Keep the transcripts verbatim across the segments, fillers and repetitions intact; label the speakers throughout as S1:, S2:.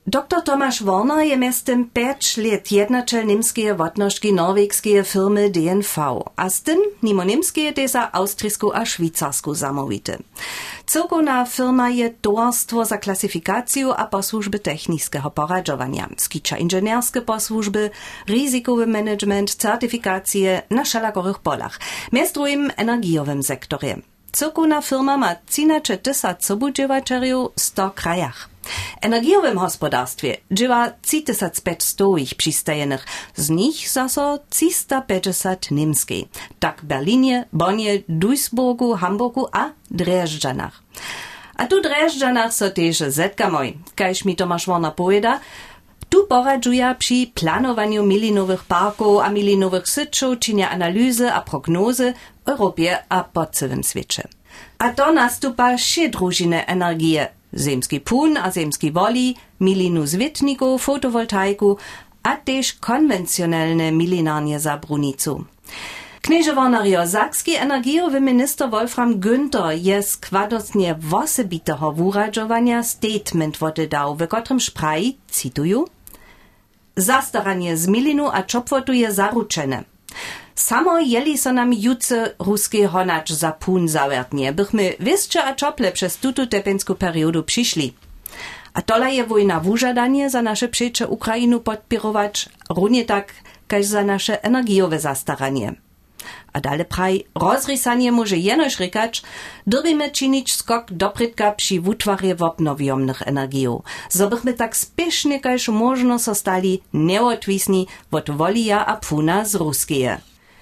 S1: Doktor Tomasz Warner je miestem pięć lat jednačel niemskie wotnożki norwegskie firmy D N V, a z tym mimo niemskie te za austrijsku a szwajcarsku zamówity. Cyrkowna firma je towarstwo za klasyfikację a posłużby technicznego poradzowania, skicza inżynierskie posłużby, ryzykowy management, certyfikacje na szalakorych polach, między drugim energiowym sektorze. Cyrkowna firma ma trzynaście tysięcy sobudziewaczeriów w sto krajach. W energiowym gospodarstwie dziewa trzy tysiące pięćset ich przystajenych, z nich zaso trzysta pięćdziesiąt niemskiej, tak w Berlinie, Bonnie, Duisburgu, Hamburgu a Drjeżdżanach. A tu Drjeżdżanach so też zetkamy, kajż mi Tomasz Warner powiada, tu poradzuja przy planowaniu milinowych parków a milinowych syczów, czynia analizy a prognozy w Europie a po całym świecie. A to nastupa še družine energije, zemski pun a zemski voli, milinu zvětniku, fotowoltaiku, a tež konvencionalne milinarnie za brunicu. Knieže Warner sakski energijowy minister Wolfram Günther je składnostnie wosebitego wuradżowania statement wotedał, w kotrym szpraji, cituju, zastaranie z milinu a czopwotu je zaručene. Samo jeli so nam juce ruski honacz za pun zawertnie, bychmy wysče a czople przez tutu tepensku periodu przyszli. A tola je wojna wużadanie za nasze przejcze Ukrainu podpirować, równie tak, kaž za nasze energijowe zastaranie. A dale praj, rozrysanie może jenoż rykać, drbimy czynić skok doprytka przy wutwarje wobnowiomnych energijów, zo bychmy tak spiesznie kaž można zostali neodwisni od wolija a puna z ruskie.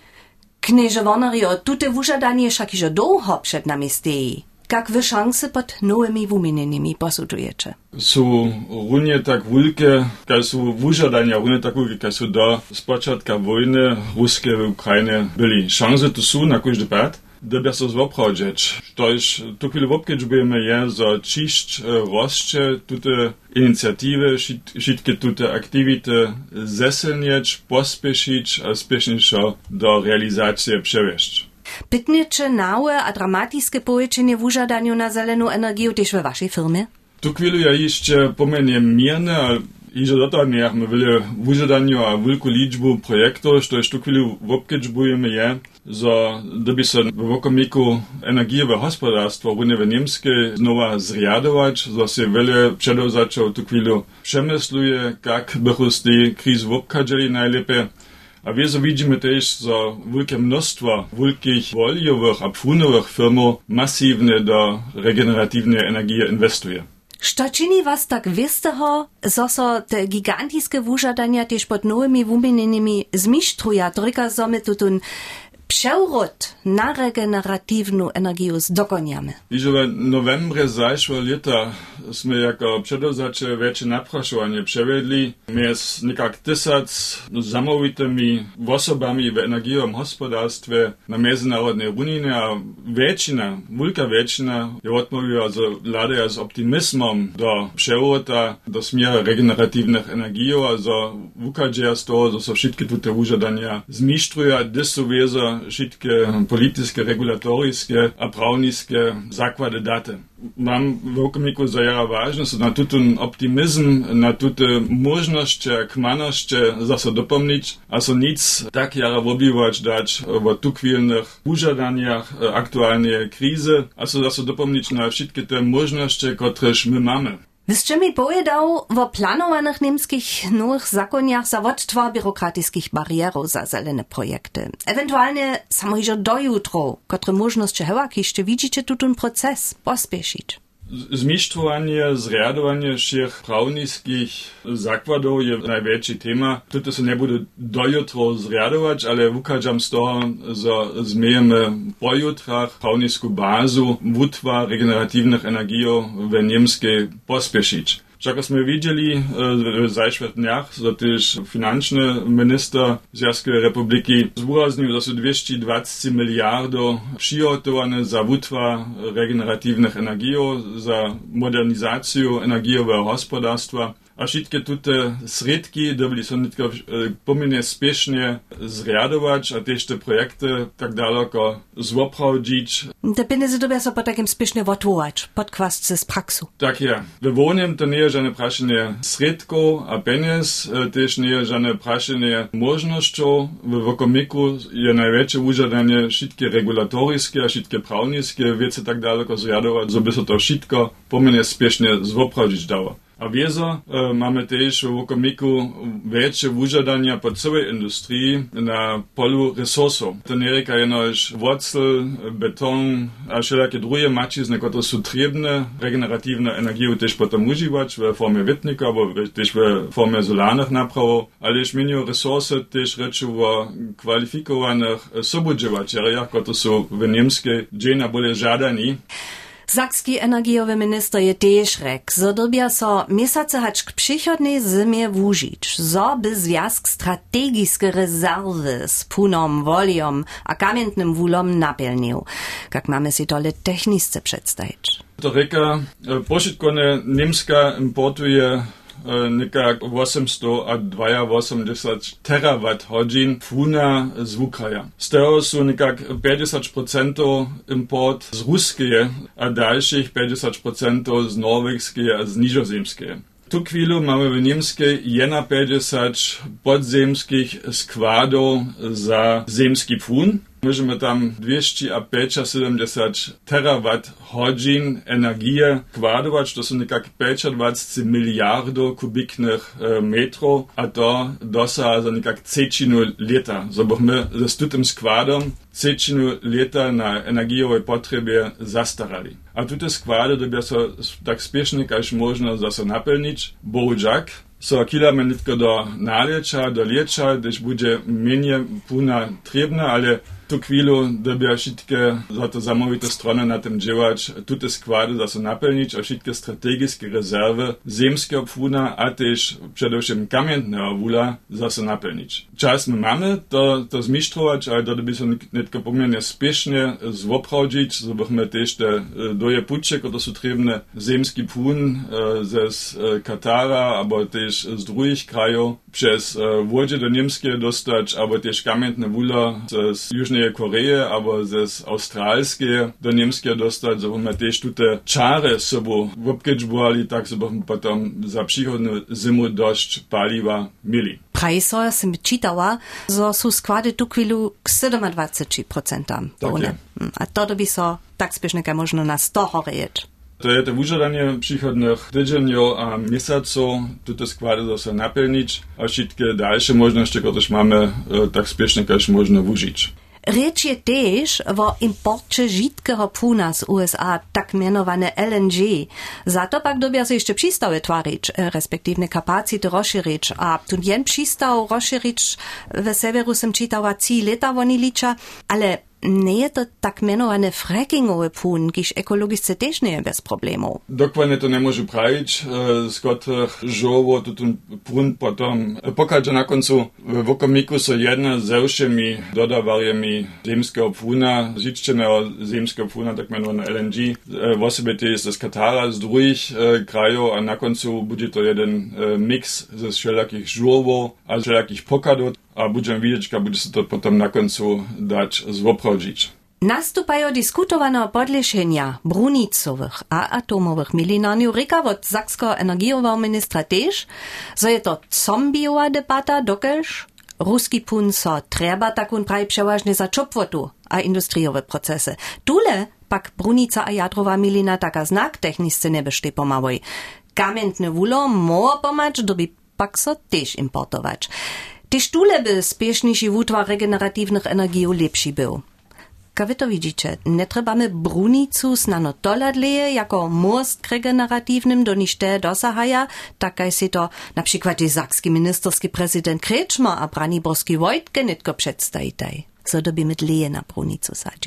S1: Knieže Warner, tute wużadanie však iżo długo przed nami steji. Jak wy szanse pod nowymi wumienieniami posudujecie?
S2: Są równie tak wielkie, jak są wużadania, równie tak wielkie, jak są do spoczętka wojny ruskie w Ukrainie byli. Szanse to są na każdy pad, gdyby się zwoprowadzić. To już tu chwilę wopkiedzbujemy je, za ciszcz rozcze tute inicjatywy, wszystkie tute aktywity zesilnieć, pospieszyć, a spieszniejszo do realizacji przewieźć.
S1: Pytniecze nałe a dramatiskie połyczenie w użadaniu na zeleną energię też we waszej firmie?
S2: Tu chwilę ja jeszcze pomenię mierne, ale iże do toho nie, my byli w użadaniu a wielką liczbę projektów, to już tu chwilę wopkiedzbujemy je, że gdyby się w okomiku energijowego gospodarstwa Unie Niemskie znowu zriadować, że się wiele przedewzaczał tu chwilę przemysluje, jak byśmy z tej krizy wopkadzili najlepiej. A wieso widzimy też, że wielkie mnóstwo wielkich woliowych a pfunowych firm masywnie do regeneratywnej energii inwestuje.
S1: Co czyni was tak wystego, że so te gigantiskie wużadania też pod nowymi wumienieniami zmisztruja, tylko że my tutun przewrót na regeneratywną energię zdokoniamy?
S2: Iże w novembrze zeszłego lata sme jako przedewzacze większe napraszowanie przewiedli. Między niekak tysiąc zamowitymi osobami w energijowym gospodarstwie na międzynarodnej równinie, a większość, wielka większość je odmówiła, że ladają z optymizmem do przewrota, do smiera regeneratywnych energii, a że wukadzieja z toho, że so wszystkie te wużadania zmisztruja, gdyż są wiezo wszystkie polityczne, regulatorskie a prawnickie zakłady daty. Mam w okomiku zajara ważne, że na ten optymizm, na te możności, kmaności zase dopomnieć, a so nic tak jara wobiwać dać o tukwilnych wużadaniach aktualnej krizy, a so zase dopomnieć na wszystkie te możności, któreż my mamy.
S1: Wyście mi powiedział o planowanych niemskich nowych zakoniach za odtwór biurokratickich barierów za zelene projekty. Ewentualnie samo iżo do jutro, które możności hełak jeszcze widzicie tu ten proces pospieszyć.
S2: Zmištrowanie, zriadowanie všech prawnickich zakładów je największy tema. Tutaj się nie bude dojutro zriadować, ale wukadzam z toho, że zmiejemy po jutrach prawnicką bazu wutwa regeneratywnych energii w niemskiej pospieszyć. Však sme videli w zajszłych dniach, że też financzny minister Związkowej Republiki zúraznil, że są dwieście dwadzieścia miliardów przygotowane za wutwa regeneratywnych energii, za modernizację energijowego gospodarstwa. a všetky tute sredky dobili są nitko pomierne spiešne zriadować, a też te projekty tak daleko zoprawdzić.
S1: Te pieniądze dobia so po takim spiešne wotwołać, podkwasce z praksu.
S2: Tak je. We wonem to nie jest żadne praszenie sredko a peniaz, też nie jest żadne praszenie możnością. W wokomiku je największe użadanie wszystkie regulatorskie, a wszystkie prawnickie wiece tak daleko zriadować, żeby so to wszystko pomierne spiešne zoprawdzić dało. A wiezo e, mamy też w wokomiku większe użadania po całej industrii na polu resursów. To nie jest jenoż wocel, beton, a wszelakie drugie macizny, które są trzebne, regeneratywne energię też potem używać w formie wietnika, albo też w formie solarnych naprawów, ale zmienią resursy też rzeczy o kwalifikowanych sobudziewaczeriach, które są w niemskiej dzień bolej żadani.
S1: Sakski energiowy minister je też rek, zo dobia so měsace hač k přichodnej zimie wužić, zo by związk strategiske rezerwy z punom, woliom a kamiennym wulom napełnił, jak mamy si to technicznie przedstawić.
S2: To reka, pošetkone Niemska importuje nekak osemsto a dvainosemdesiat terawatt hodin płuna z Ukraja. Z tego są nekak pięćdziesiąt procent import z Ruskie, a dalszych pięćdziesiąt procent z Norwegskie a z Nizozemskie. Tu chwilę mamy w Niemskiej pięćdziesiąt podzemskich składów za zemski płyn. Możemy tam dwieście siedemdziesiąt terawatt hodin energii kładować, to są nekak dwadzieścia pięć miliardów kubiknych e, metrów, a to dosa za nekak trzecinu lata. So byśmy ze tym składem trzecinu lata na energiowe potrzeby zastarali. A te składy dobią so tak spiesznie, jak można zase napełnić, bohužak. So kilamy nie tylko do nalecza, do lecza, gdyż będzie mniej płuna trzebna, ale tu chwilę dobia wszystkie za to zamówite strony na tym działać, te składy zase napełnić, a wszystkie strategiskie rezerwy ziemskiego płuna, a też przede wszystkim kamiennego wula zase napełnić. Czas my mamy to, to zmisztrować, ale to by się nie tylko pomierne spiesznie zwoprawdzić, żebyśmy też te doje pucze, które są trzebne, ziemski płun ze Katara, albo też z drugich krajów, przez wodzie do Niemskie dostać, albo też kamienne wula z Južnej Koreje, albo z Australskie do Niemskie dostać, żebyśmy też te czary sobą obkedźbowali, tak żebyśmy potem za przychodną zimu dość paliwa mieli.
S1: Prajso sam czytała, że są składy tu chwilu k dwadzieścia siedem procent.
S2: Tak
S1: a to by so tak spiesznie jak można na sto horejeć.
S2: To je to wyżadanie przychodnych tydzieniów a miesaców, te składy zase napełnić, a wszystkie dalsze możliwości, które mamy, tak spiesznie jak można użyć.
S1: Rzecz je też o imporcie żitkiego płuna z U S A, tak mianowane L N G. Za to pak dobia się jeszcze przystawy twarić, respektywne kapacity rozszerzyć, a tu jen przystaw rozszerzyć w severu sam czytała trzy lata oni licza, ale nie jest to tak mianowane frackingowe płyn, kiż ekologicznie też nie jest bez problemów.
S2: Dokładnie to nie może prawić, z których żoło to ten płyn potem pokaże na końcu w okomiku są jedne z zawszymi dodawariami ziemskiego płyna, zniszczonego ziemskiego płyna, tak mianowane L N G. W osobie to jest z Katara, z drugich krajów, a na końcu będzie to jeden mix ze wszelakich żołów, a wszelakich pokadów, a będziemy widzieć, jak będzie się to potem na końcu dać zwoprawdzić.
S1: Nastupają diskutowane podlešenia brunicowych a atomowych milinarniów ryka od sakskiego energiowego ministra też, że je to zombiowa debata, dokelż ruski płyn so trzeba takun praj przeważnie za czopwotu a industriowe procesy. Tule pak brunica a jadrowa milina taka znak techniczny nie byszty pomałej. Kamienny wulo mo pomać, doby pak so też importować. Tyż tule by spieszniejszy wutwar regeneratywnych energii lepszy był. Jak wy to widzicie, nie trzebamy brunicu znano doladleje jako most regeneratywnym do nište dosahaja, tak jak si to na przykład sakski ministerski prezydent Kretschmer a Braniborski Wojtke nitko przedstawitaj. Co doby mit leje na brunicu sadzić.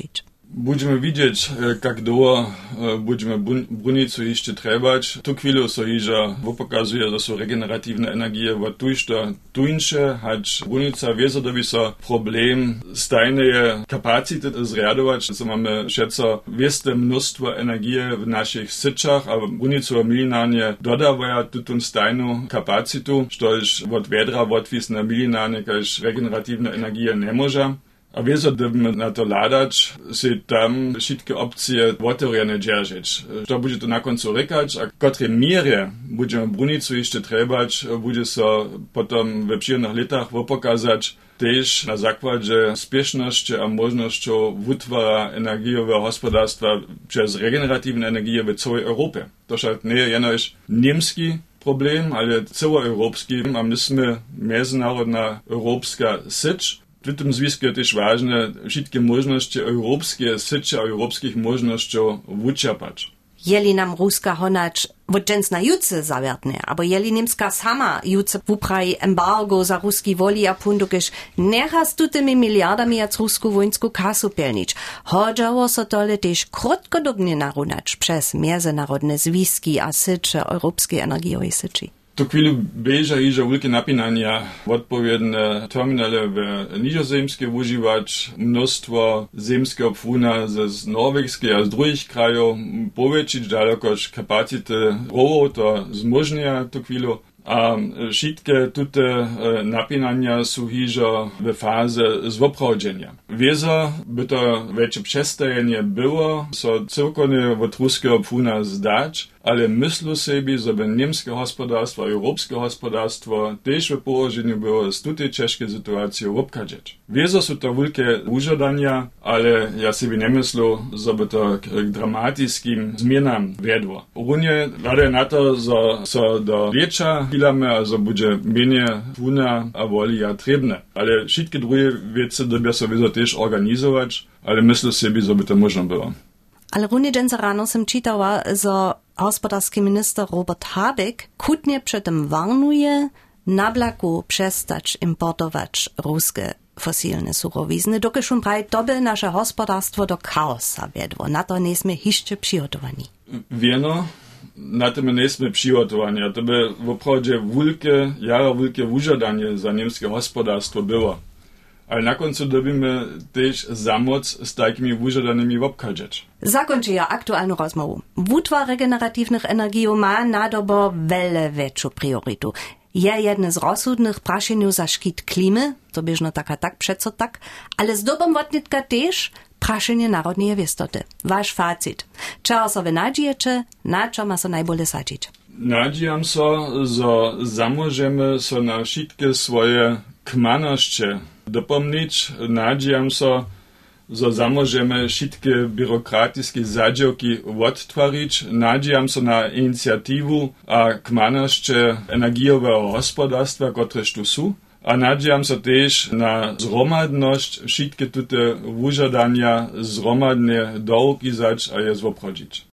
S2: Budeme widzieć, jak długo budeme brunicu jeszcze trebać. Tu chwilę so iża pokazuje, że są regeneratywne energie w tujszto tuńsze, choć brunica wie, że dobi so problem stajnej kapacity zriadować, że mamy szedco wieste mnóstwo energii w naszych syczach, a brunicu milinarnie dodawają tutun stajną kapacitu, što już od wiedra odwisne milinarnie, kaž regeneratywne energie nie może. A wieso dybmy na to ladać, si tam wszystkie opcje otworene dzierżyć. To będzie to na końcu rekać, a w której mierze będziemy brunicu jeszcze trebać, będzie so potem we przyjemnych latach pokazać też na zakładzie spieszności a możliwości wytwara energiowego gospodarstwa przez regeneratywne energie w całej Europie. To nie jest jenoś niemski problem, ale całoeuropski, a myśmy międzynarodna europejska sycz. W tym związku jest też ważne wszystkie możliwości europejskie, sycie europejskich możliwości wyczerpać.
S1: Jeli nam Ruska honacz wodżens na juce zawiertnie, albo jeli niemska sama juce wupraj embargo za ruski woli a pundukisz, nechas tu tymi miliardami jak rusku wojsku kasu pelnić. Chodzało so tole też krótkodobnie narunacz przez międzynarodne związki a sycie europejskiej energiowej syci.
S2: Tu chwilę bieża iża wielkie napinania, odpowiednie terminale w Nizozemskie używać, mnóstwo zemskiego płuna z norwegskiej a z drugich krajów, powiększyć dalekoż kapacity rowów, to zmożnia tu chwilę. A wszystkie te napinania są iża w fazie zwoprawdzenia. Wiezo by to większe przestajenie było, so całkowicie od ruskiego płuna zdać, ale myślę sobie, żeby niemskie gospodarstwo, europejskie gospodarstwo też w położeniu było z tej ciężkiej sytuacji obkadzieć. Wiezo są to wielkie użadania, ale ja sobie nie myślę, żeby to k dramatycznym zmianom wiedło. Runie rade na to, że so do wiecza chwilamy, a że będzie mniej płuna a woli a trebne. Ale wszystkie drugie rzeczy dobią sobie też organizować, ale myślę sobie, żeby to można było.
S1: Ale runie dżęca rano sam czytała, że gospodarski minister Robert Habeck kutnie przy tym warnuje, na blaku przestać importować ruskie fosilne surowizny, dokiż on prawie, to by nasze gospodarstwo do chaosa wiedło. Na to nie jesteśmy jeszcze przygotowani.
S2: Wieno, na tym nie jesteśmy przygotowani, a to by w opradzie wielkie, jaro wielkie wyżadanie za niemskie gospodarstwo było. Ale na końcu dobimy też za moc z takimi wyżadanymi obkadzieć.
S1: Zakończyję aktualną rozmowę. Wutwar regeneratywnych energii ma na dobo wiele większą priorytu. Je jedne z rozsudnych praszeniu za szkit klimy, to bieżno tak a tak, przeco tak, ale z dobą wotnitka też praszenie narodnej wiestoty. Wasz facit. Czego sobie nadziejecie, na co ma so najbolej sadzić?
S2: Nadziejam so, że zamożemy so na wszystkie swoje kmaności dopomnieć. Nadziejam so, że zamożemy wszystkie biurokratyczne zadziałki odtworzyć. Nadziejam so na inicjatywę a kmaności energiowego gospodarstwa, które tu są. A nadziejam se też na zromadność wszystkie te wyżadania zromadnie dołkizać a je zwoprodzić.